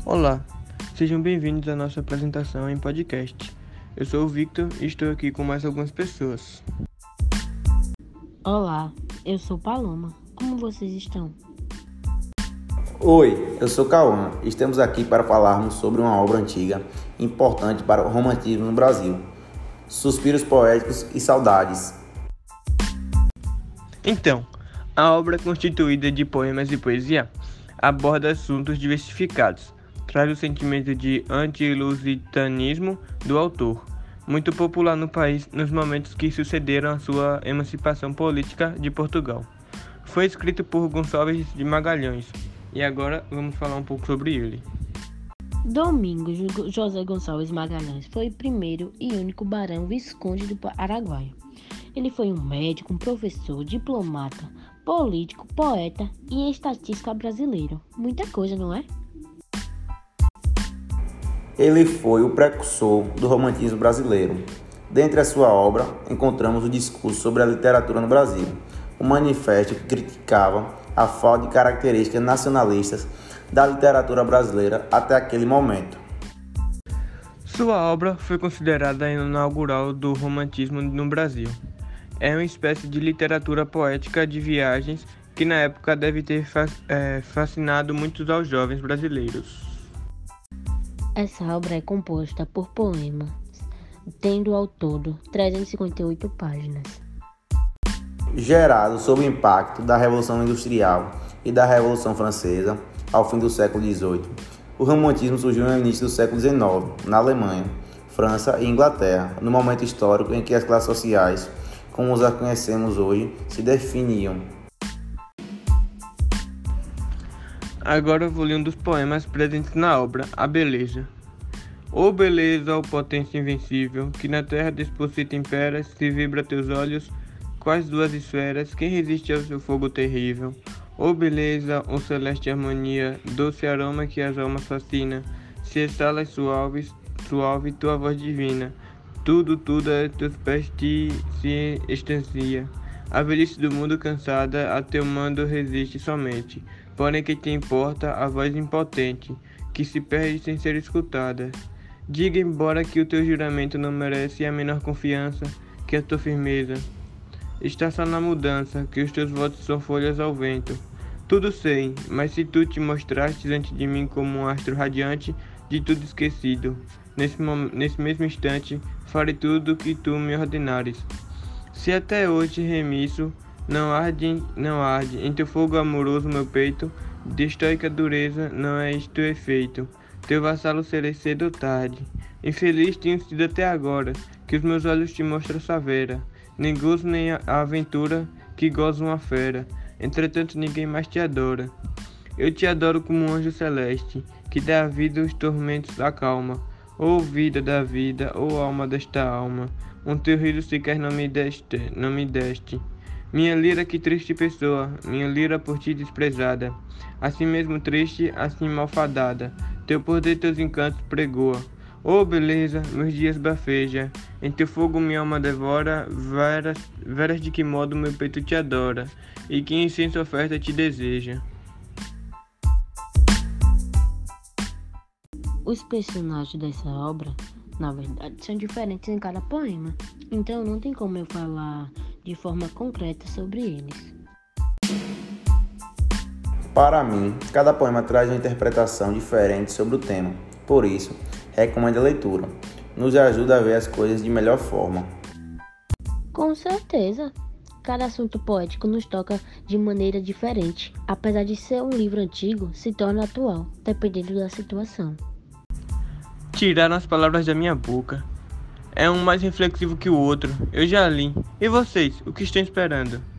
Olá, sejam bem-vindos à nossa apresentação em podcast. Eu sou o Victor e estou aqui com mais algumas pessoas. Olá, eu sou Paloma. Como vocês estão? Oi, eu sou Cauã e estamos aqui para falarmos sobre uma obra antiga importante para o romantismo no Brasil. Suspiros poéticos e saudades. Então, a obra constituída de poemas e poesia aborda assuntos diversificados, traz o sentimento de anti-lusitanismo do autor, muito popular no país nos momentos que sucederam a sua emancipação política de Portugal. Foi escrito por Gonçalves de Magalhães e agora vamos falar um pouco sobre ele. Domingos José Gonçalves Magalhães foi o primeiro e único barão visconde do Araguaia. Ele foi um médico, um professor, diplomata, político, poeta e estatística brasileiro. Muita coisa, não é? Ele foi o precursor do romantismo brasileiro. Dentre a sua obra, encontramos o discurso sobre a literatura no Brasil, um manifesto que criticava a falta de características nacionalistas da literatura brasileira até aquele momento. Sua obra foi considerada a inaugural do romantismo no Brasil. É uma espécie de literatura poética de viagens que na época deve ter fascinado muitos aos jovens brasileiros. Essa obra é composta por poemas, tendo ao todo 358 páginas. Gerado sob o impacto da Revolução Industrial e da Revolução Francesa, ao fim do século XVIII, o romantismo surgiu no início do século XIX, na Alemanha, França e Inglaterra, no momento histórico em que as classes sociais, como as conhecemos hoje, se definiam. Agora eu vou ler um dos poemas presentes na obra, A Beleza. Ô beleza, ó potência invencível, que na terra disposta te imperas, se vibra teus olhos, quais duas esferas, quem resiste ao seu fogo terrível? Ô beleza, ó celeste harmonia, doce aroma que as almas fascina, se exala suave tua voz divina, tudo a teus pés se estancia. A velhice do mundo cansada a teu mando resiste somente, porém que te importa a voz impotente, que se perde sem ser escutada. Diga embora que o teu juramento não merece a menor confiança, que a tua firmeza está só na mudança, que os teus votos são folhas ao vento. Tudo sei, mas se tu te mostraste diante de mim como um astro radiante, de tudo esquecido, nesse mesmo instante, farei tudo o que tu me ordenares. Se até hoje remisso, não arde em teu fogo amoroso meu peito, de estoica dureza não é isto efeito, teu vassalo serei cedo ou tarde. Infeliz tenho sido até agora, que os meus olhos te mostram savera, nem gozo nem a aventura que goza uma fera, entretanto ninguém mais te adora. Eu te adoro como um anjo celeste, que dá à vida os tormentos da calma. Ó vida da vida, ó alma desta alma, um teu riso sequer não me deste. Minha lira, que triste pessoa, minha lira por ti desprezada, assim mesmo triste, assim malfadada, teu poder teus encantos pregoa. Ó beleza, meus dias bafeja, em teu fogo minha alma devora, veras de que modo meu peito te adora, e que incenso oferta te deseja. Os personagens dessa obra, na verdade, são diferentes em cada poema, então não tem como eu falar de forma concreta sobre eles. Para mim, cada poema traz uma interpretação diferente sobre o tema, por isso, recomendo a leitura. Nos ajuda a ver as coisas de melhor forma. Com certeza, cada assunto poético nos toca de maneira diferente, apesar de ser um livro antigo, se torna atual, dependendo da situação. Tiraram as palavras da minha boca. É um mais reflexivo que o outro. Eu já li. E vocês, o que estão esperando?